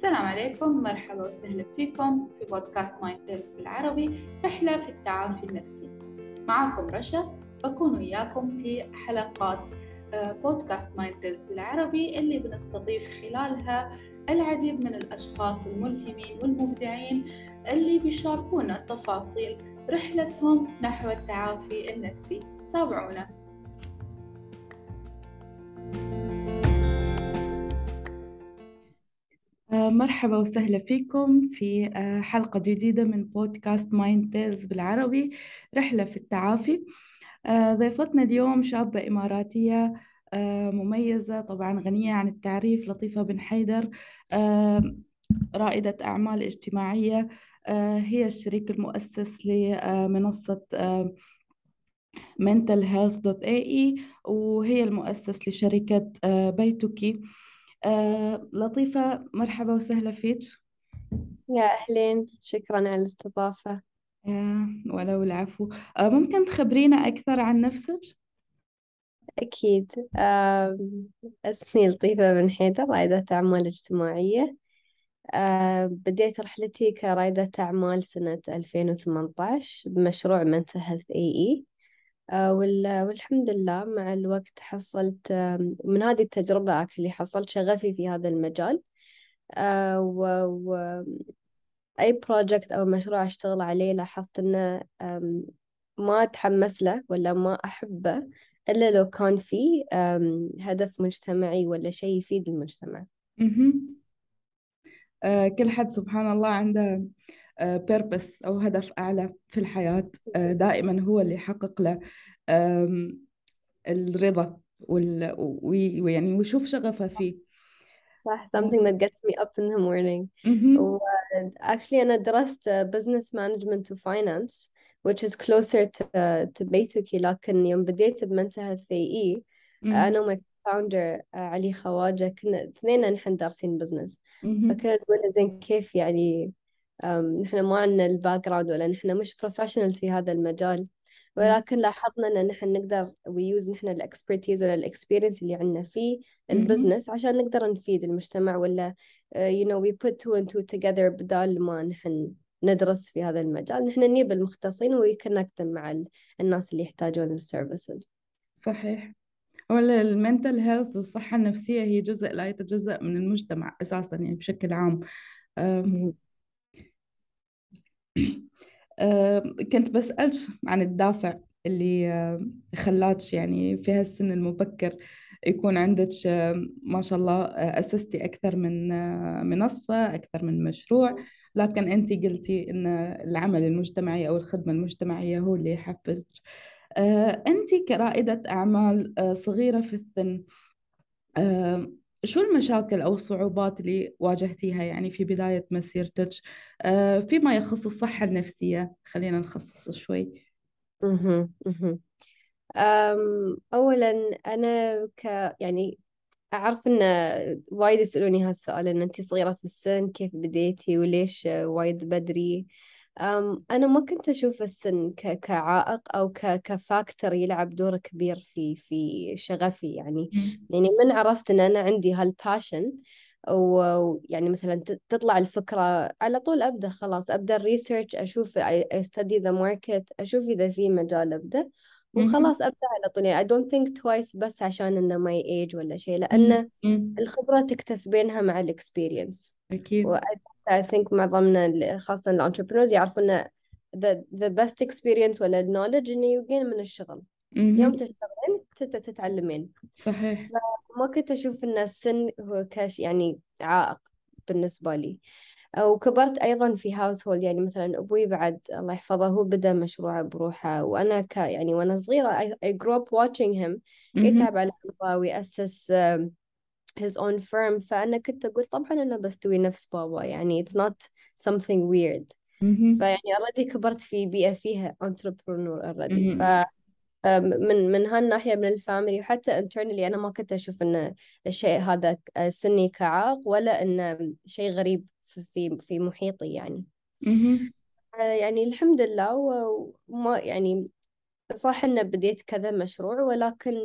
السلام عليكم، مرحبا وسهلا فيكم في بودكاست مايندفولنس بالعربي، رحلة في التعافي النفسي. معكم رشا، بكون وياكم في حلقات بودكاست مايندفولنس بالعربي اللي بنستضيف خلالها العديد من الأشخاص الملهمين والمبدعين اللي بيشاركونا تفاصيل رحلتهم نحو التعافي النفسي. تابعونا. مرحبا وسهلا فيكم في حلقة جديدة من بودكاست مايند تيلز بالعربي، رحلة في التعافي. ضيفتنا اليوم شابة إماراتية مميزة، طبعا غنية عن التعريف، لطيفة بن حيدر، رائدة أعمال اجتماعية. هي الشريك المؤسس لمنصة mentalhealth.ae، وهي المؤسس لشركة بيتوكي. لطيفة، مرحبا وسهلا فيك. يا أهلين، شكرا على الاستضافة. ولو العفو. ممكن تخبرينا أكثر عن نفسك؟ أكيد. اسمي لطيفة بن حيدر، رائدة أعمال اجتماعية. بديت رحلتي كرائدة أعمال سنة 2018 بمشروع منتل هيلث AE. والحمد لله مع الوقت حصلت من هذه التجربة اللي حصلت شغفي في هذا المجال. أي بروجكت أو مشروع أشتغل عليه لاحظت إنه ما أتحمس له ولا ما أحبه إلا لو كان فيه هدف مجتمعي ولا شيء يفيد المجتمع. مهم. كل حد سبحان الله عنده بيربس أو هدف أعلى في الحياة، دائما هو اللي يحقق له آم، الرضا ويعني ويشوف شغفه فيه. صح. something that gets me up in the morning. و مهم. actually أنا درست business management و finance, which is closer to بيتوكي. لكن يوم بديت بمنتهى الثيئي، مهم. أنا وماي founder علي خواجة كنا اثنين نحن دارسين business. مهم. فكنا نقول زين كيف يعني نحن ما عندنا الباك جراوند ولا نحن مش بروفيشنالز في هذا المجال، ولكن لاحظنا ان نحن نقدر ويوز نحن الاكسبرتيز ولا الاكسبيرينس اللي عندنا في مهم. البزنس عشان نقدر نفيد المجتمع، ولا we put two and two together بدال ما نحن ندرس في هذا المجال. نحن نجيب المختصين ويكونكت مع الناس اللي يحتاجون السيرفيسز. صحيح. ولا المنتل هيلث والصحة النفسية هي جزء لا يتجزأ من المجتمع أساسا، يعني بشكل عام. آم، كنت بسألك عن الدافع اللي خلاك يعني في هالسن المبكر يكون عندك، ما شاء الله، أسستي أكثر من منصة، أكثر من مشروع، لكن أنت قلتي أن العمل المجتمعي أو الخدمة المجتمعية هو اللي يحفزك. أنت كرائدة أعمال صغيرة في السن، آه، شو المشاكل أو الصعوبات اللي واجهتيها يعني في بداية مسيرتك فيما يخص الصحة النفسية؟ خلينا نخصص شوي. مهم. مهم. أولا أنا يعني أعرف إن وايد يسألوني هالسؤال، إن أنتي صغيرة في السن كيف بديتي وليش وايد بدري. أنا ما كنت أشوف السن كعائق أو كفاكتور يلعب دور كبير في شغفي يعني. مم. يعني من عرفت إن أنا عندي هالباشن، ويعني مثلا تطلع الفكرة على طول أبدأ، خلاص أبدأ الريسيرش، أشوف I study the market، أشوف إذا في مجال أبدأ مهم. وخلاص أبدأ على طول. يعني I don't think twice بس عشان إنه my age ولا شيء، مم. لأن مم. الخبرة تكتسبينها مع الاكسبيرينس. و أكيد. I think معظمنا خاصة الانتربرنورز يعرفون إن the best experience ولا knowledge إنه يجين من الشغل. يوم مهم. تشتغلين تتعلمين. صحيح. فما كنت أشوف إن السن هو يعني عائق بالنسبة لي. وكبرت أيضا في هاوس هولد. يعني مثلا أبوي بعد الله يحفظه هو بدأ مشروعه بروحه، وأنا يعني وأنا صغيرة I grew up watching him مهم. يتعب على أرضه ويأسس his own firm. فأنا كنت أقول طبعا أنا بستوي نفس بابا، يعني it's not something weird. مهم. فيعني already كبرت في بيئة فيها entrepreneur already. مهم. من هالناحية من الفاميلي، وحتى internally أنا ما كنت أشوف إن الشيء هذا سني كعائق ولا إنه شيء غريب في محيطي يعني. مهم. يعني الحمد لله. وما يعني صح إنه بديت كذا مشروع، ولكن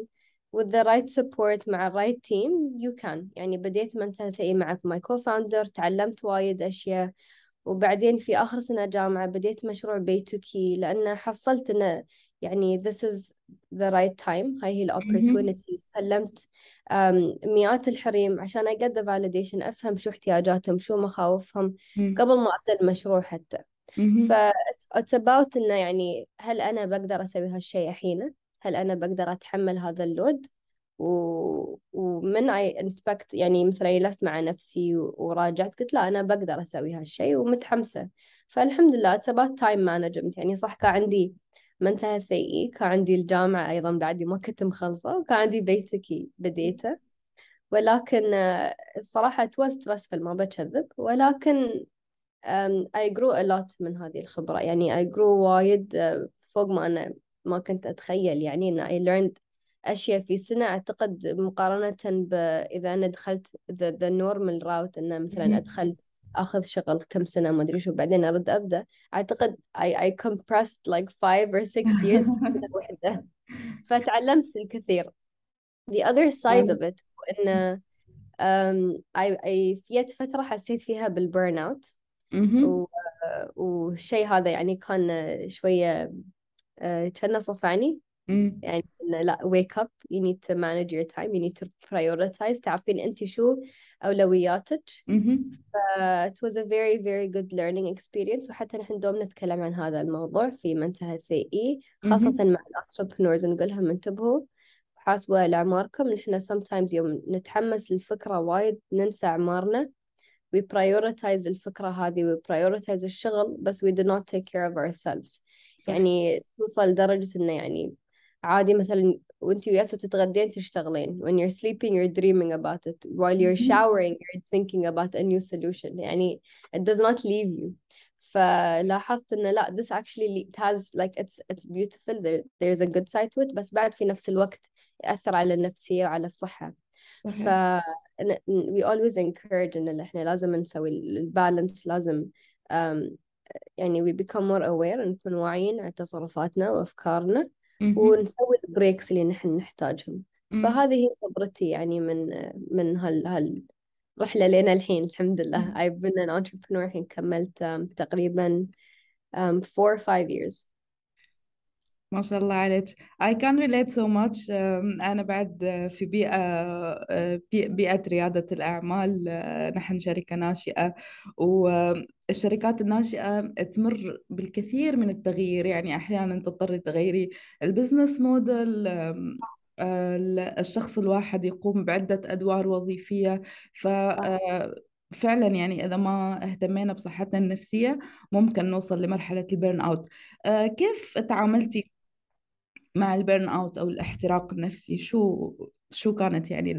with the right support مع ال right team you can. يعني بديت mental health مع my co-founder، تعلمت وايد أشياء. وبعدين في آخر سنة جامعة بديت مشروع بيتوكي، لأن حصلت إنه يعني this is the right time، هاي هي ال مهم. opportunity. كلمت مئات الحريم عشان I get the validation، أفهم شو احتياجاتهم، شو مخاوفهم مم. قبل ما أبدأ المشروع حتى. ف مهم. it's about إنه يعني هل أنا بقدر أسوي هالشيء الحين؟ هل أنا بقدر أتحمل هذا اللود؟ ومن I inspect يعني مثلا جلست مع نفسي وراجعت، قلت لا أنا بقدر أسوي هالشيء ومتحمسة. فالحمد لله it's about time management. يعني صح كان عندي منتهى سيئة، كان عندي الجامعة أيضا بعدي ما كنت مخلصة، وكان عندي بيتكي بديته. ولكن الصراحة it was stressful ما بكذب، ولكن I grew a lot من هذه الخبرة. يعني I grew وايد فوق ما أنا ما كنت أتخيل. يعني إن I learned أشياء في سنة، أعتقد مقارنة إذا أنا دخلت the normal route، إنه مثلا مهم. أدخل أخذ شغل كم سنة ما أدري شو بعدين أرد أبدأ. أعتقد I compressed like 5 or 6 years في سنة واحدة. فتعلمت الكثير. the other side of it إنه في فترة حسيت فيها بالبرن اوت. مهم. والشيء هذا يعني كان شوية كأنه صفعني. مم. يعني إنه لا wake up you need to manage your time you need to prioritize، تعرفين أنت شو أولوياتك. مهم. it was a very very good learning experience. وحتى نحن دوم نتكلم عن هذا الموضوع في منتهى CE، خاصة مهم. مع الانتربرنورز، نقول لهم انتبهوا، حاسبوا على أعماركم. نحن sometimes يوم نتحمس للفكرة وايد ننسى أعمارنا. we prioritize الفكرة هذه، we prioritize الشغل، بس we do not take care of ourselves. صح. يعني توصل لدرجة إنه يعني عادي مثلا وانتي وياسة تتغدين تشتغلين، when you're sleeping you're dreaming about it, while you're مهم. showering you're thinking about a new solution. يعني it does not leave you. فلاحظت إنه لا this actually it has like it's beautiful, there's a good side to it، بس بعد في نفس الوقت يأثر على النفسية وعلى الصحة. ف صحيح. we always encourage إن إحنا لازم نسوي البالانس، لازم um, يعني we become more aware، نكون واعيين على تصرفاتنا وأفكارنا، مهم. ونسوي البريكس اللي نحن نحتاجهم. مم. فهذه هي خبرتي يعني من هالرحلة لنا الحين. الحمد لله I've been an entrepreneur الحين كملت تقريبا 4 or 5 years. ما شاء الله عليك. I can relate so much. أنا بعد في بيئة ريادة الأعمال. نحن شركة ناشئة، والشركات الناشئة تمر بالكثير من التغيير. يعني أحيانا تضطري تغيري البزنس موديل. الشخص الواحد يقوم بعدة أدوار وظيفية. فعلا يعني إذا ما اهتمينا بصحتنا النفسية ممكن نوصل لمرحلة البيرن أوت. كيف تعاملتي مع البيرن اوت او الاحتراق النفسي؟ شو كانت يعني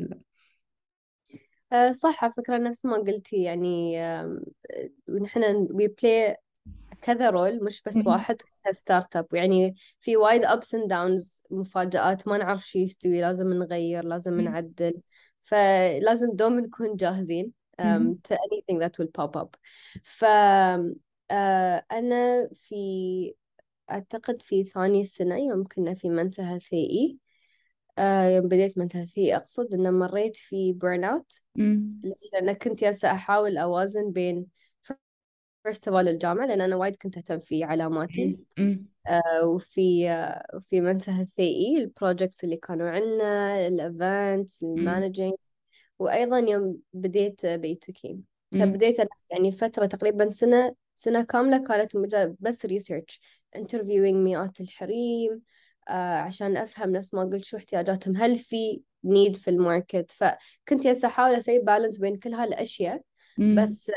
صح، على فكرة نفس ما قلتي. يعني نحن we play كذا رول مش بس مهم. واحد كستارت اب. يعني في وايد ups and downs، مفاجآت ما نعرف شو يستوي، لازم نغير، لازم مهم. نعدل. فلازم دوم نكون جاهزين مهم. to anything that will pop up. ف أنا أعتقد في ثاني سنة يوم كنا في منتهى ثيئي، يوم بديت منتهى ثيئي أقصد إن مريت في بيرن أوت. مهم. لأن كنت جالسة أحاول أوازن بين first of all الجامعة، لأن أنا وايد كنت أهتم في علاماتي. مهم. وفي منتهى الثيئي البروجكتس اللي كانوا عندنا، الايفنتس، مهم. المانجينج. وأيضا يوم بديت بيتوكي، مهم. فبديت أنا يعني فترة تقريبا سنة كاملة كانت مجرد بس ريسيرش، انترفيوينج مئات الحريم عشان أفهم نفس ما قلت شو احتياجاتهم، هل في نيد في الماركت. فكنت هسه أحاول أسوي بالانس بين كل هالأشياء. مهم. بس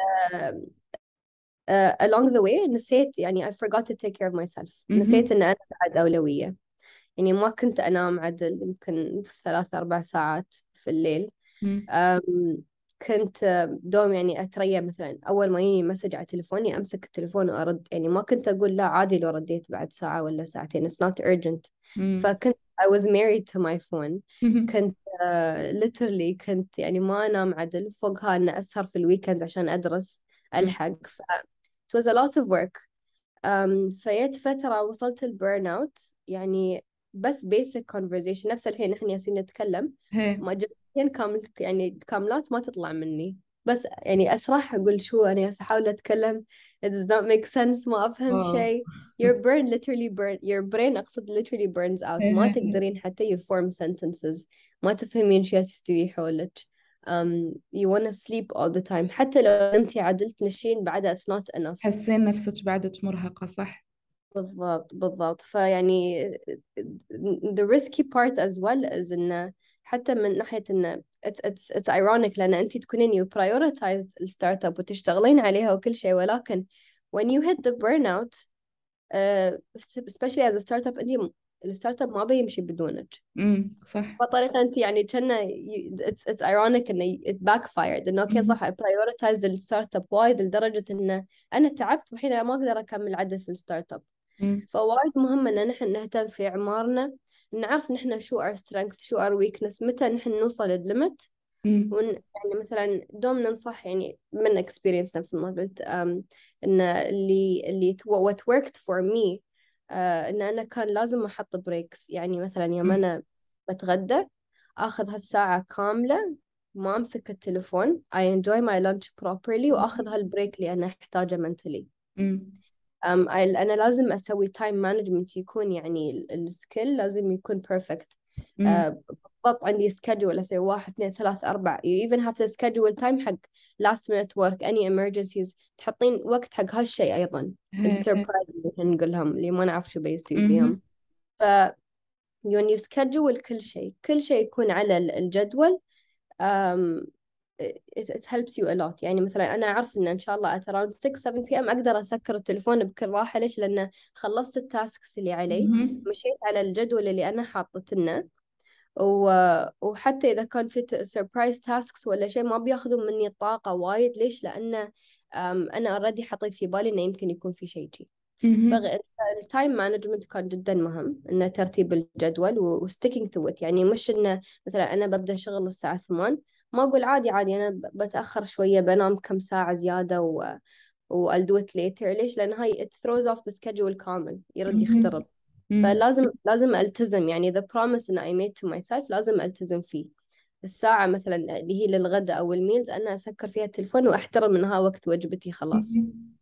along the way نسيت، يعني I forgot to take care of myself. نسيت مهم. إن أنا بعد أولوية. يعني ما كنت أنام عدل، يمكن 3 4 ساعات في الليل. مهم. أم، كنت دوم يعني أتريا مثلا أول ما يجيني مسج على تليفوني أمسك التليفون وأرد. يعني ما كنت أقول لا عادي لو رديت بعد ساعة ولا ساعتين، it's not urgent. مهم. فكنت I was married to my phone. مهم. كنت literally كنت يعني ما أنام عدل، فوقها أن أسهر في الويكندز عشان أدرس ألحق. it was a lot of work. فيت فترة وصلت البيرن اوت. يعني بس basic conversation نفس الحين نحن ياسين نتكلم، هي ما جملتين كامل يعني كاملات ما تطلع مني، بس يعني أسرح أقول شو أنا ياسا أحاول أتكلم it does not make sense، ما أفهم اه شيء. your brain أقصد literally burns out، هي ما هي تقدرين حتى you form sentences، ما تفهمين شو يستوي حولك. you wanna sleep all the time، حتى لو نمتي عدل تنشين بعدها it's not enough. حسين نفسك بعدك مرهقة صح؟ بالضبط بالضبط. فيعني the risky part as well is إنه حتى من ناحية إنه it's ironic، لأن أنت تكونين you prioritize الستارت اب وتشتغلين عليها وكل شيء، ولكن when you hit the burnout especially as a startup، أنت الستارت اب ما بيمشي بدونك. صح. بطريقة أنت يعني كنا it's ironic إنه it backfired، إنه أوكي مهم. صح I prioritized الستارت اب وايد لدرجة إنه أنا تعبت وحين ما أقدر أكمل عدل في الستارت اب. مم. فوايد مهم ان نحن نهتم في اعمارنا، نعرف نحن شو our strength شو our weakness، متى نحن نوصل الليمت. مم. يعني مثلا دوم ننصح يعني من experience نفس ما قلت، ان اللي what worked for me ان انا كان لازم احط بريكس. يعني مثلا يوم مم. انا بتغدى اخذ هالساعة كاملة ما امسك التليفون I enjoy my lunch properly واخذ هالبريك اللي انا احتاجه mentally. مم. أنا لازم أسوي تايم مانجمنت يكون يعني السكيل لازم يكون بيرفكت. مم. بالضبط عندي سكجول أسوي واحد اثنين ثلاث أربع you even have to schedule time حق last minute work any emergencies، تحطين وقت حق هالشيء أيضا هي هي. السربرايزز اللي نقولهم اللي ما نعرف شو بيستوي مهم. فيهم. ف when you schedule كل شيء يكون على الجدول. um, it helps you a lot. يعني مثلا أنا أعرف إن شاء الله at around 6 7 p.m. أقدر أسكر التليفون بكل راحة. ليش؟ لأن خلصت التاسكس اللي علي، مهم. مشيت على الجدول اللي أنا حاطته لنا، وحتى إذا كان في surprise tasks ولا شيء ما بياخذوا مني الطاقة وايد. ليش؟ لأن أنا already حطيت في بالي إنه يمكن يكون في شيء جي. مهم. فالتايم مانجمنت كان جدا مهم، انه ترتيب الجدول وستيكينج تو ات. يعني مش انه مثلا انا ببدا شغل الساعه 8 ما اقول عادي عادي انا بتاخر شويه بنام كم ساعه زياده I'll do it later. ليش؟ لان هاي it throws off the schedule كامل، يرد مهم. يخترب. مم. فلازم التزم، يعني the promise that I made to myself لازم التزم فيه. الساعة مثلا اللي هي للغداء أو الميلز أنا أسكر فيها التلفون وأحترم إنها وقت وجبتي خلاص. مهم.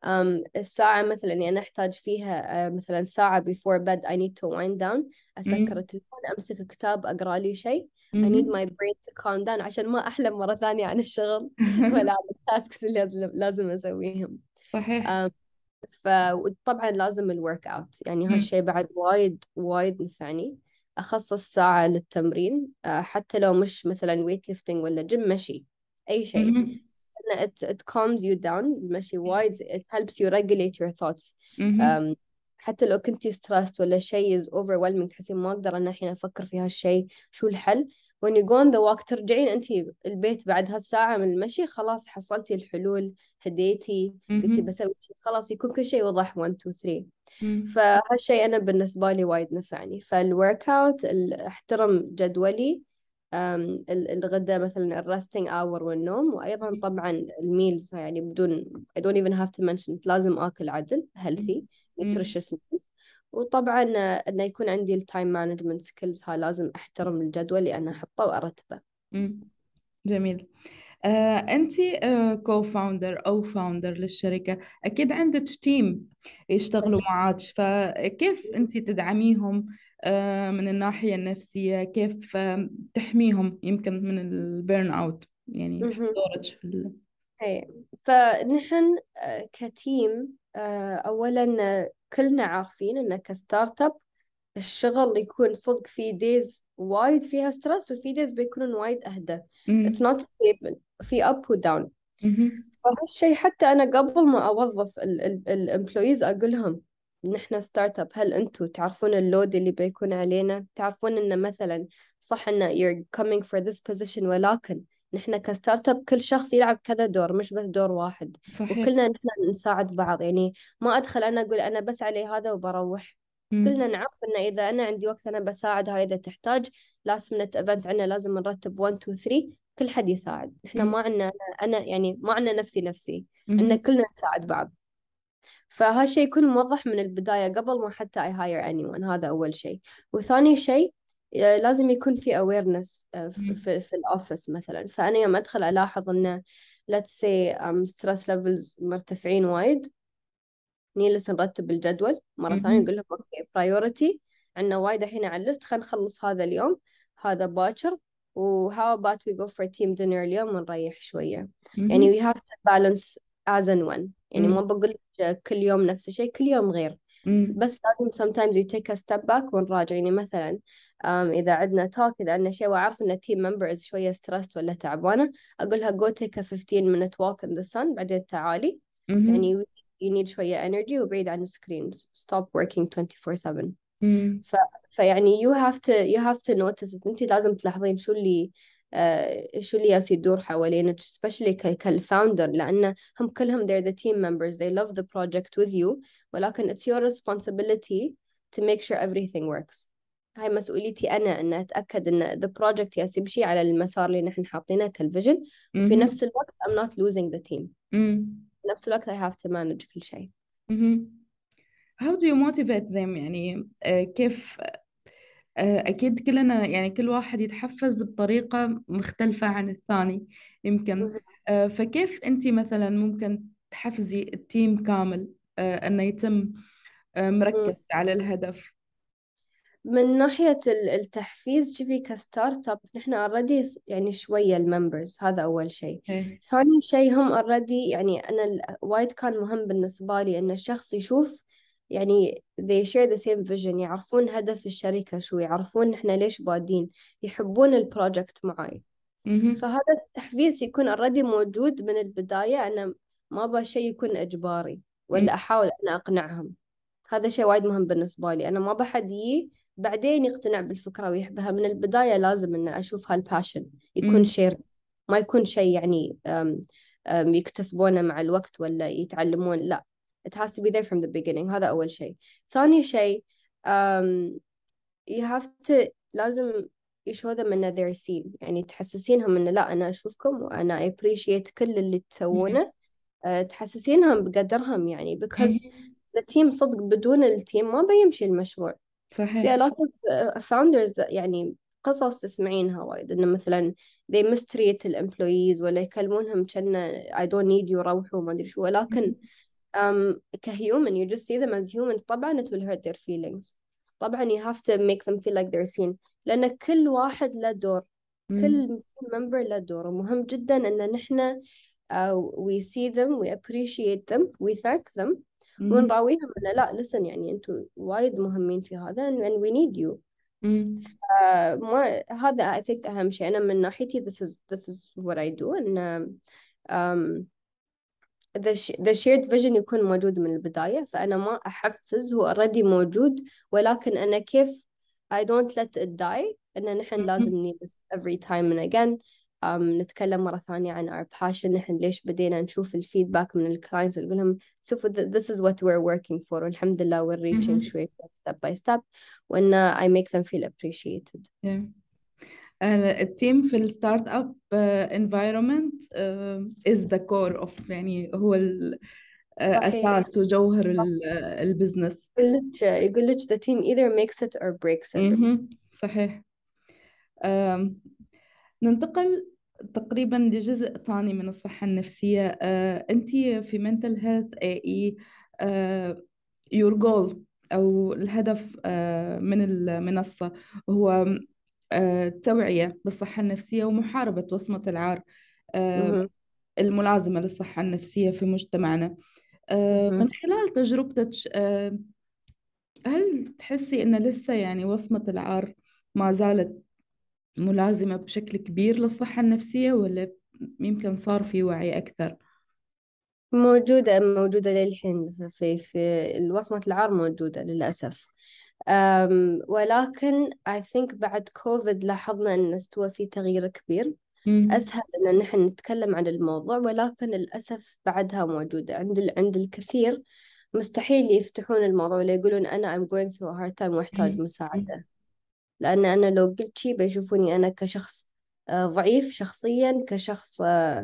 الساعة مثلا يعني أنا أحتاج فيها مثلا ساعة before bed I need to wind down، أسكر مم. التليفون أمسك كتاب أقرأ لي شيء. I need مهم. my brain to calm down عشان ما أحلم مرة ثانية عن الشغل ولا عن التاسكس اللي لازم أسويهم. صحيح. أم، فطبعا لازم الورك أوت، يعني مم. هالشيء بعد وايد وايد نفعني. أخصص ساعة للتمرين، حتى لو مش مثلا ويت ليفتنج ولا جيم، مشي أي شيء. مهم. إنه it calms you down المشي وايد. it helps you regulate your thoughts. مهم. um, حتى لو كنتي stressed ولا شيء is overwhelming تحسين ما أقدر أنا الحين أفكر في هالشيء شو الحل، when you go on the walk ترجعين أنتي البيت بعد هالساعة من المشي خلاص حصلتي الحلول، هديتي قلتي مهم. بسوي شيء خلاص يكون كل شيء وضح 1 2 3. مم. فهالشيء أنا بالنسبة لي وايد نفعني. فالورك أوت احترم جدولي، الغداء مثلا الرستنج اور والنوم، وأيضا طبعا الميلز يعني بدون I don't even have to mention it. لازم آكل عدل healthy مم. nutritious meals. وطبعا إنه يكون عندي التايم مانجمنت سكيلز، ها لازم أحترم الجدول اللي أنا أحطه وأرتبه. مم. جميل. أنت كو فاوندر أو فاوندر للشركة، أكيد عندك تيم يشتغلوا معك، فكيف أنت تدعميهم من الناحية النفسية؟ كيف تحميهم يمكن من البيرن أوت؟ يعني شو أكيد. دورك في ايه. فنحن كتيم اولا كلنا عارفين ان كستارت اب الشغل يكون صدق في دايز وايد فيها ستريس وفي دايز بيكونون وايد اهدى. it's مم. not stable، في up و down. مهم. فهالشيء حتى انا قبل ما اوظف الامبلويز اقول لهم نحن ستارت اب، هل انتم تعرفون اللود اللي بيكون علينا؟ تعرفون ان مثلا صح ان you're coming for this position، ولكن نحن كستارت اب كل شخص يلعب كذا دور مش بس دور واحد، صحيح. وكلنا نحن نساعد بعض. يعني ما ادخل انا اقول انا بس علي هذا وبروح. كلنا مم. نعرف ان اذا انا عندي وقت انا بساعد هاي، اذا تحتاج لاست minute ايفنت عندنا لازم نرتب 1 2 3 كل حد يساعد. احنا مم. ما عندنا أنا يعني ما عندنا نفسي مهم. عندنا كلنا نساعد بعض. فهالشيء يكون موضح من البداية قبل ما حتى I hire anyone. هذا أول شيء. وثاني شيء لازم يكون في awareness مم. في الأوفيس مثلا. فأنا يوم أدخل ألاحظ إنه let's say stress levels مرتفعين وايد، نجلس نرتب الجدول مرة ثانية، مم. نقول لهم اوكي priority، عندنا وايد الحين على الليست، خلينا نخلص هذا اليوم، هذا باكر، و how about we go for team dinner اليوم ونريح شوية. مم. يعني we have to balance as and when. يعني ما مم. بقول لك كل يوم نفس الشيء، كل يوم غير. مم. بس لازم sometimes we take a step back ونراجع. يعني مثلا إذا عندنا talk، إذا عندنا شيء وأعرف إن team member is شوية stressed ولا تعبانة، أقولها go take a 15 minute walk in the sun، بعدين تعالي. مم. يعني you need شوية energy وبعيد عن السكرينز. stop working 24/7. مم. ف... فيعني you have to notice it. انت لازم تلاحظين شو اللي ياس يدور حوالينك especially كالفاوندر، لأن هم كلهم they're the team members, they love the project with you، ولكن it's your responsibility to make sure everything works. هاي مسؤوليتي أنا أن أتأكد أن the project ياس يمشي على المسار اللي نحن حاطينه كالفيجن، وفي مم. نفس الوقت I'm not losing the team. مم. في نفس الوقت I have to manage كل شيء. مم. How do you motivate them يعني كيف أكيد كلنا يعني كل واحد يتحفز بطريقة مختلفة عن الثاني يمكن فكيف أنت مثلا ممكن تحفزي التيم كامل أنه يتم مركز مهم. على الهدف. من ناحية التحفيز، شوفي كستارت اب نحن اوريدي يعني شوية الممبرز، هذا أول شيء. إيه. ثاني شيء هم اوريدي، يعني أنا وايد كان مهم بالنسبة لي إن الشخص يشوف يعني they share the same vision، يعرفون هدف الشركة شو، يعرفون نحن ليش بادين، يحبون البروجكت معي. مهم. فهذا التحفيز يكون اوريدي موجود من البداية. أنا ما أبغى شيء يكون إجباري مم. ولا أحاول أنا أقنعهم. هذا شيء وايد مهم بالنسبة لي. أنا ما بحد بعدين يقتنع بالفكرة ويحبها. من البداية لازم إن أشوف هالباشن يكون مم. شير، ما يكون شيء يعني يكتسبونه مع الوقت ولا يتعلمون، لا. it has to be there from the beginning. هذا أول شيء. ثاني شيء you have to لازم you show them إن they're seen. يعني تحسسينهم إن لا، أنا أشوفكم وأنا appreciate كل اللي مم. تسوونه. تحسسينهم بقدرهم يعني because مم. the team صدق بدون التيم ما بيمشي المشروع. في صحيح. a lot of founders يعني قصص تسمعينها وايد إنه مثلا they mistreat الامبلويز ولا يكلمونهم كأنه I don't need you، روحوا ما أدري شو. ولكن كهيومن you just see them as humans. طبعا it will hurt their feelings. طبعا you have to make them feel like they're seen، لأن كل واحد له دور، مم. كل member له دور. ومهم جدا إن نحن we see them, we appreciate them, we thank them، مم. ونراويهم إنه لا listen، يعني أنتوا وايد مهمين في هذا and we need you. مم. ما هذا I think أهم شيء. أنا من ناحيتي this is what I do. إن um, the shared vision يكون موجود من البداية. فأنا ما أحفز، هو already موجود، ولكن أنا كيف I don't let it die. إن نحن لازم مم. every time and again نتكلم مرة ثانية عن our passion. نحن ليش بدينا، نشوف الفيدباك من الكلاينتس ونقول لهم شوفوا this is what we're working for، والحمد لله we're reaching مم. شوي step by step، وإن I make them feel appreciated. Yeah. التيم في الستارت اب environment is the core of يعني هو صحيح. أساس وجوهر البزنس. يقول لك the team either makes it or breaks it. مهم. صحيح. آم، ننتقل تقريبا لجزء ثاني من الصحة النفسية. أنت في mental health AE your goal أو الهدف من المنصة هو التوعية بالصحة النفسية ومحاربة وصمة العار آه، مهم. الملازمة للصحة النفسية في مجتمعنا. من مهم. خلال تجربتك هل تحسي أن لسه يعني وصمة العار ما زالت ملازمة بشكل كبير للصحة النفسية ولا يمكن صار في وعي أكثر؟ موجودة للحين. في الوصمة العار موجودة للأسف. ولكن I think بعد كوفيد لاحظنا أن استوى في تغيير كبير. مم. أسهل أن نحن نتكلم عن الموضوع، ولكن للأسف بعدها موجودة عند الكثير. مستحيل يفتحون الموضوع ولا يقولون أنا I'm going through a hard time وأحتاج مم. مم. مساعدة. لأن أنا لو قلت شي بيشوفوني أنا كشخص ضعيف شخصيا، كشخص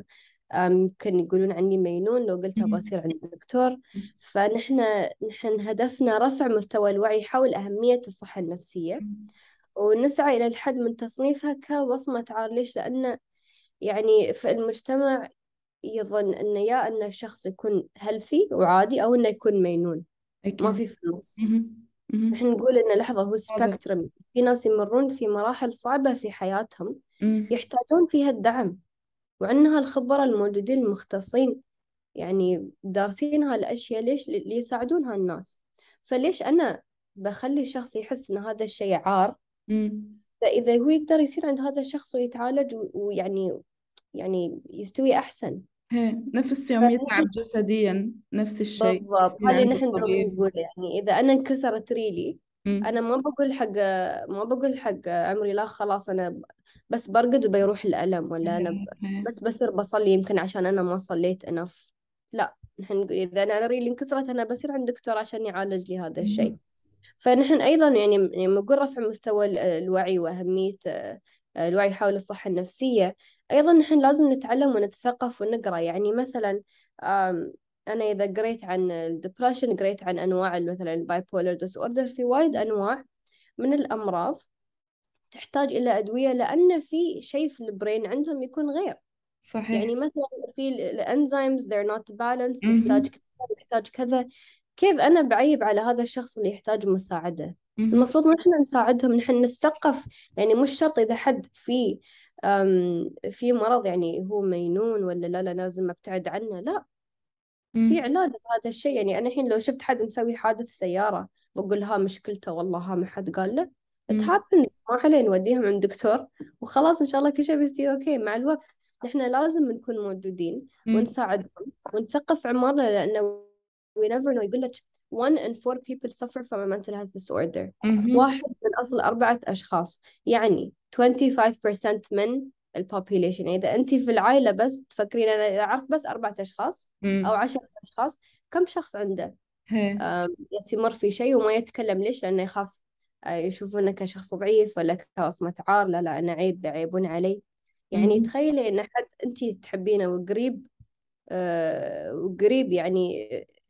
ممكن يقولون عني مجنون لو قلت أبغى مهم. أصير عند دكتور. فنحن هدفنا رفع مستوى الوعي حول أهمية الصحة النفسية، ونسعى إلى الحد من تصنيفها كوصمة عار. ليش؟ لأن يعني في المجتمع يظن أن يا أن الشخص يكون هيلثي وعادي، أو أنه يكون مجنون، ما أكيد. في النص. مهم. نحن مهم. نقول إن لحظة، هو واضح. سبيكترم، في ناس يمرون في مراحل صعبة في حياتهم مم. يحتاجون فيها الدعم، وعندنا هالخبراء الموجودين المختصين يعني دارسين هالأشياء. ليش؟ ليساعدون هالناس. فليش أنا بخلي الشخص يحس إن هذا الشيء عار؟ مم. فإذا هو يقدر يصير عند هذا الشخص ويتعالج ويعني يستوي أحسن. هي نفس يوم فنحن يتعب جسديا نفس الشيء بالضبط يصير هذا اللي عند نحن دوم الطبيب. نقول. يعني إذا أنا انكسرت ريلي، أنا مم. ما بقول حق عمري لا خلاص أنا بس برقد وبيروح الألم، ولا أنا هي. بس بصير بصلي يمكن عشان أنا ما صليت انف. لا، نحن نقول إذا أنا ريلي انكسرت أنا بصير عند دكتور عشان يعالج لي هذا الشيء. مم. فنحن أيضا يعني نقول رفع مستوى الوعي وأهمية الوعي حول الصحة النفسية. أيضا نحن لازم نتعلم ونتثقف ونقرأ. يعني مثلا آم، أنا إذا قريت عن الدبريشن، قريت عن أنواع مثلا البايبولر ديس أوردر، في وايد أنواع من الأمراض تحتاج إلى أدوية لأن في شيء في البرين عندهم يكون غير. صحيح. يعني مثلا في الانزيمز they're not balanced، يحتاج مهم. كذا، يحتاج كذا. كيف أنا بعيب على هذا الشخص اللي يحتاج مساعدة؟ مهم. المفروض نحن نساعدهم، نحن نتثقف. يعني مش شرط إذا حد في مرض يعني هو مجنون ولا لا لازم أبتعد عنه. لا، في مم. علاج لهذا الشيء. يعني أنا الحين لو شفت حد مسوي حادث سيارة بقول ها مشكلته والله، ها ما حد قال له. it مم. happens، ما عليه، نوديهم عند دكتور وخلاص إن شاء الله كل شيء بيصير أوكي مع الوقت. نحن لازم نكون موجودين مم. ونساعدهم ونثقف عمارنا، لأنه we never know. يقول لك one in four people suffer from a mental health disorder. مهم. واحد من أصل 4 أشخاص، يعني 25% من البوبيليشن. إذا أنت في العائلة بس تفكرين أنا إذا أعرف بس 4 أشخاص أو مم. 10 أشخاص، كم شخص عنده هي. يمر في شيء وما يتكلم؟ ليش؟ لأنه يخاف يشوفونه كشخص ضعيف ولا كوصمة عار. لا لا، أنا عيب، يعيبون علي. يعني مهم. تخيلي إن حد أنت تحبينه وقريب، وقريب يعني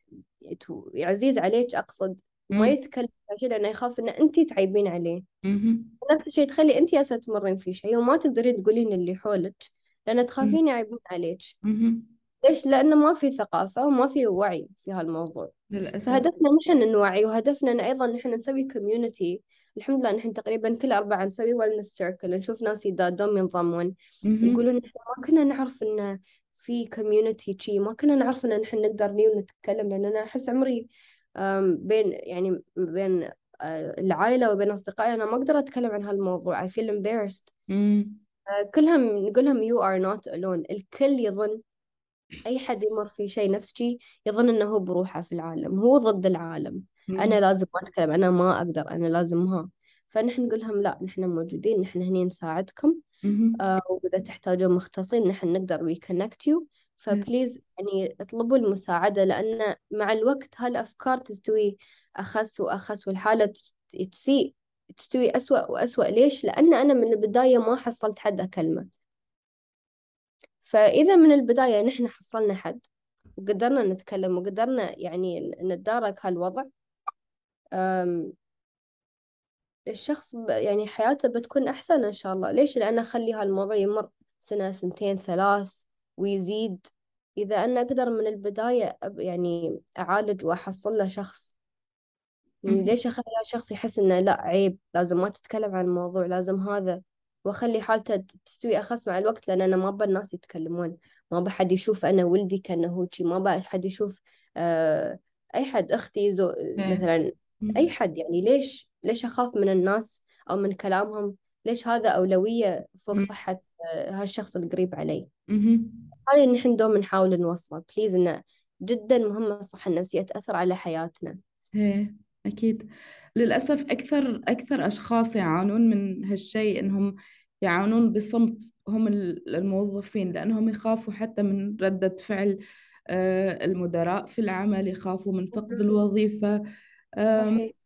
عزيز عليك أقصد، وما مم. يتكلم عشان لأنه يخاف إن أنت تعيبين عليه. مهم. نفس الشيء تخلي أنت هسه تمرين في شيء وما تقدرين تقولين اللي حولك، لأن مم. تخافين يعيبون عليك. مهم. ليش؟ لأنه ما في ثقافة وما في وعي في هالموضوع. للأسف. فهدفنا نحن نوعي، وهدفنا أن أيضا نحن نسوي كوميونتي. الحمد لله نحن تقريبا كل 4 نسوي ويلنس سيركل، نشوف ناس يدادون ينضمون مهم. يقولون نحن ما كنا نعرف إن في كوميونتي شي، ما كنا نعرف إن نحن نقدر ني ونتكلم. لأن أنا أحس عمري بين يعني بين العائلة وبين أصدقائي أنا ما أقدر أتكلم عن هالموضوع. I feel embarrassed. مم. كلهم نقولهم you are not alone. الكل يظن، أي حد يمر في شيء نفسي يظن إنه هو بروحه في العالم، هو ضد العالم. مم. أنا لازم ما أتكلم، أنا ما أقدر، أنا لازم ها. فنحن نقول لهم لا، نحن موجودين، نحن هني نساعدكم. مهم. وإذا تحتاجون مختصين نحن نقدر we connect you. فبليز يعني اطلبوا المساعدة، لأن مع الوقت هالأفكار تستوي أخس وأخس، والحالة تسيء، تستوي أسوأ وأسوأ. ليش؟ لأن أنا من البداية ما حصلت حد أكلمه. فإذا من البداية نحن حصلنا حد وقدرنا نتكلم وقدرنا يعني نتدارك هالوضع، أم، الشخص يعني حياته بتكون أحسن إن شاء الله. ليش؟ لأن أخلي هالموضوع يمر سنة سنتين ثلاث ويزيد. إذا أنا أقدر من البداية يعني أعالج وأحصل له شخص، مهم. ليش أخلي هالشخص يحس إنه لا عيب، لازم ما تتكلم عن الموضوع، لازم هذا، وأخلي حالته تستوي أخس مع الوقت. لأن أنا ما أبى الناس يتكلمون، ما أبى حد يشوف أنا ولدي كأنه هو شي، ما أبى حد يشوف آه أي حد، أختي إيه. مثلا، أي مم. حد. يعني ليش أخاف من الناس أو من كلامهم؟ ليش هذا أولوية فوق مم. صحة هالشخص القريب علي؟ مهم. هذا اللي نحن دوم نحاول نوصله. بليز، إنه جدا مهمة الصحة النفسية، تأثر على حياتنا. ايه. أكيد. للأسف أكثر أشخاص يعانون من هالشيء إنهم يعانون بصمت هم الموظفين، لأنهم يخافوا حتى من ردة فعل المدراء في العمل، يخافوا من فقد الوظيفة. آم، صحيح.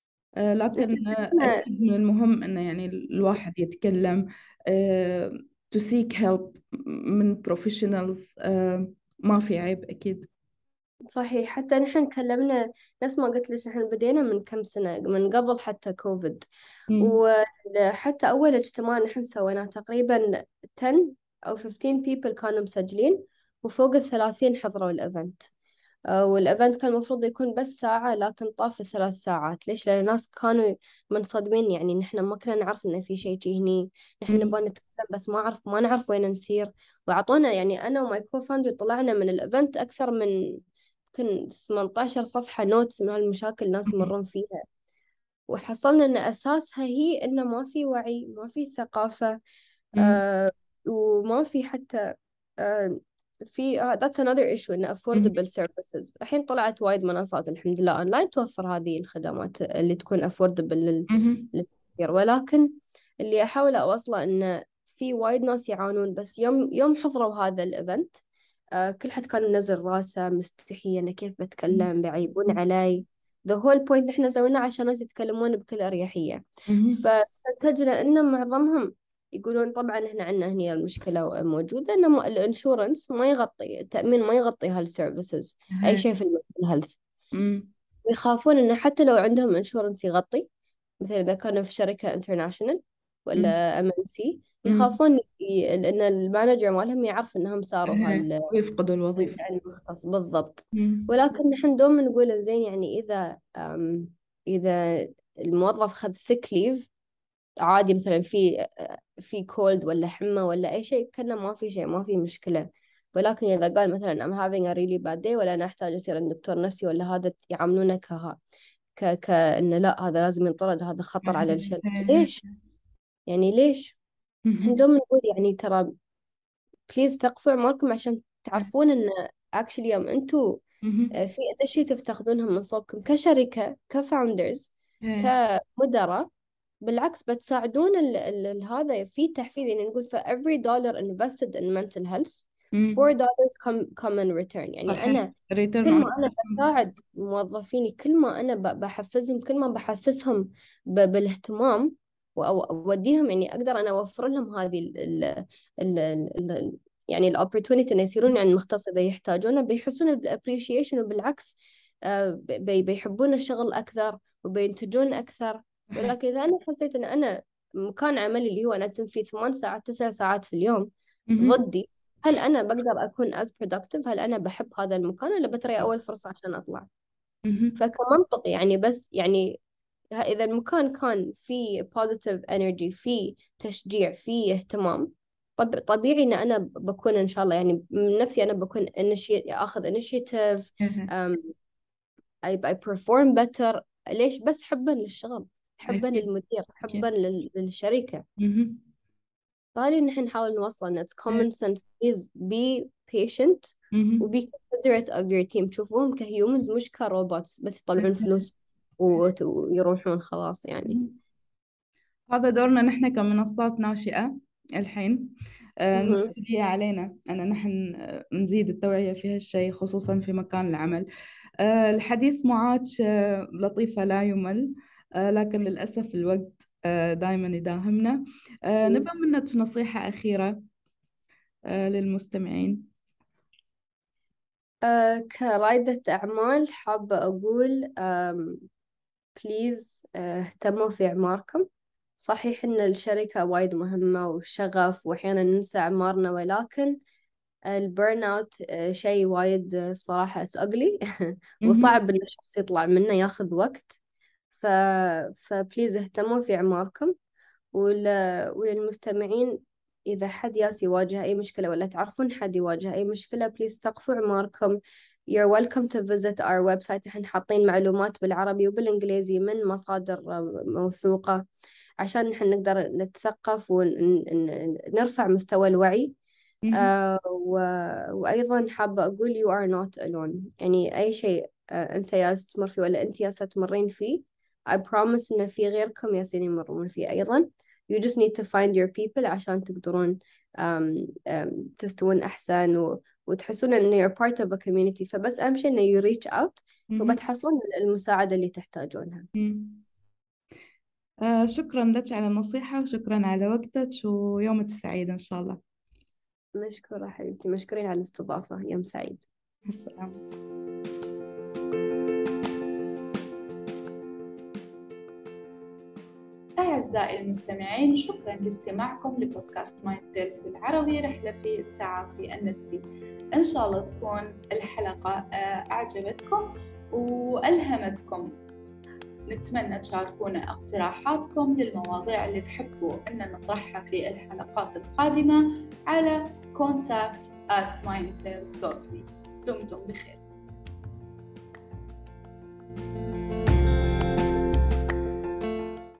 لكن نحن أكيد من المهم إنه يعني الواحد يتكلم. to seek help من professionals. ما في عيب أكيد. صحيح. حتى نحن كلمنا، نفس ما قلت لك، نحن بدينا من كم سنة، من قبل حتى كوفيد. مم. وحتى أول اجتماع نحن سويناه تقريبا 10 أو 15 people كانوا مسجلين، وفوق 30 حضروا الإيفنت. والإيفنت كان المفروض يكون بس ساعة، لكن طاف 3 ساعات. ليش؟ لأن الناس كانوا منصدمين، يعني نحن ما كنا نعرف إن في شيء هني. نحن مم. نبغى نتكلم بس ما نعرف وين نسير. وعطونا، يعني أنا وماي كو فاوندر طلعنا من الإيفنت أكثر من يمكن 18 صفحة نوتس من هالمشاكل الناس مم. يمرون فيها. وحصلنا إن أساسها هي إنه ما في وعي، ما في ثقافة. مم. آه وما في حتى آه في that's another issue، إن مم. affordable services. الحين طلعت وايد منصات الحمد لله أونلاين توفر هذه الخدمات اللي تكون affordable مم. للكثير. ولكن اللي أحاول أوصله إنه في وايد ناس يعانون. بس يوم حضروا هذا الإيفنت، كل حد كان منزل راسه مستحي، أنا كيف بتكلم، بعيبون علي. the whole point إحنا سويناه عشان الناس يتكلمون بكل أريحية. مم. فاستنتجنا إن معظمهم يقولون طبعا إحنا عندنا هنا المشكلة موجودة، إن الانشورنس ما يغطي، التأمين ما يغطي هالسيرفيسز، أي هي. شيء في الهيلث. مم. يخافون إنه حتى لو عندهم انشورنس يغطي، مثلا إذا كانوا في شركة انترناشونال مم. ولا ام ان سي، مم. يخافون إن المانجر مالهم يعرف إنهم صاروا هي ويفقدوا الوظيفة. المختص بالضبط. مم. ولكن نحن دوم نقول زين، يعني إذا الموظف خذ sick leave عادي، مثلا في كولد ولا حمى ولا أي شيء، كنا ما في شيء، ما في مشكلة. ولكن إذا قال مثلا I'm having a really bad day، ولا أنا أحتاج أصير عند دكتور نفسي، ولا هذا، يعاملونه كأنه لا، هذا لازم ينطرد، هذا خطر على الشركة. هي. ليش؟ يعني ليش؟ احنا مم. دوم نقول يعني ترى بليز ثقفوا عمركم، عشان تعرفون ان actually يوم انتوا مم. في initiative تاخذونهم من صوبكم كشركة، كفاوندرز، هي. كمدراء، بالعكس بتساعدون هذا في تحفيز. يعني نقول for every dollar invested in mental health مم. $4 come in return. يعني صحيح. أنا return كل on ما أنا investment. بساعد موظفيني، كل ما أنا بحفزهم، كل ما بحسسهم بالاهتمام، أو أوديهم، يعني أقدر أنا أوفر لهم هذه ال يعني الopportunity إن يصيرون يعني مختص إذا يحتاجونه، بيحسون بالappreciation. وبالعكس بيحبون الشغل أكثر وبينتجون أكثر. صحيح. ولكن إذا أنا حسيت إن أنا مكان عملي اللي هو أنا أتم فيه 8 ساعات 9 ساعات في اليوم مم. ضدي، هل أنا بقدر أكون as productive؟ هل أنا بحب هذا المكان، ولا بتري أول فرصة عشان أطلع؟ مم. فكمنطق يعني، بس يعني إذا المكان كان فيه positive energy، فيه تشجيع، فيه اهتمام، طبيعي إن أنا بكون إن شاء الله، يعني من نفسي أنا بكون أخذ initiative. هي. um, I perform better. ليش؟ بس حبا للشغل، حبا أكيد. للمدير، حبا أكيد. للشركة. مهم. فهذه نحن نحاول نوصل إن it's إيه. common sense. please be patient و مهم. be considerate of your team. تشوفوهم كهيومنز مش كروبوتس بس يطلعون فلوس ويروحون خلاص يعني. مهم. هذا دورنا نحن كمنصات ناشئة الحين. مهم. المسؤولية علينا أن نحن نزيد التوعية في هالشيء، خصوصا في مكان العمل. الحديث معك لطيفة لا يمل، لكن للأسف الوقت دائما يداهمنا. نبى منك نصيحة أخيرة للمستمعين. كرائدة أعمال حابة أقول بليز اهتموا في أعماركم. صحيح إن الشركة وايد مهمة وشغف، وأحيانا ننسى أعمارنا، ولكن البرن اوت شيء وايد صراحة it's ugly مهم. وصعب إن الشخص يطلع منه، ياخذ وقت. ف... فبليز اهتموا في أعماركم. وللمستمعين، إذا حد ياس يواجه أي مشكلة، ولا تعرفون حد يواجه أي مشكلة، بليز ثقفوا عماركم. You're welcome to visit our website. احنا حاطين معلومات بالعربي وبالإنجليزي من مصادر موثوقة، عشان نحن نقدر نتثقف ونرفع مستوى الوعي. مهم. وأيضا حابة أقول you are not alone. يعني أي شيء أنت ياس تمر فيه، ولا أنت ياس تمرين فيه، I promise إن في غيركم ياسين يمرون فيه أيضا. you just need to find your people عشان تقدرون تستوون أحسن وتحسون إن you're part of a community. فبس أهم شيء إن you reach out مهم. وبتحصلون المساعدة اللي تحتاجونها. مهم. شكرا لك على النصيحة، وشكرا على وقتك، ويومك سعيد إن شاء الله. مشكورة حبيبتي، مشكورين على الاستضافة، يوم سعيد. مع السلامة. أعزائي المستمعين، شكرا لاستماعكم لبودكاست مايند تيلز بالعربي، رحلة في التعافي النفسي. إن شاء الله تكون الحلقة أعجبتكم وألهمتكم. نتمنى تشاركونا اقتراحاتكم للمواضيع اللي تحبوا أن نطرحها في الحلقات القادمة على contact@mindtales.me. دمتم بخير.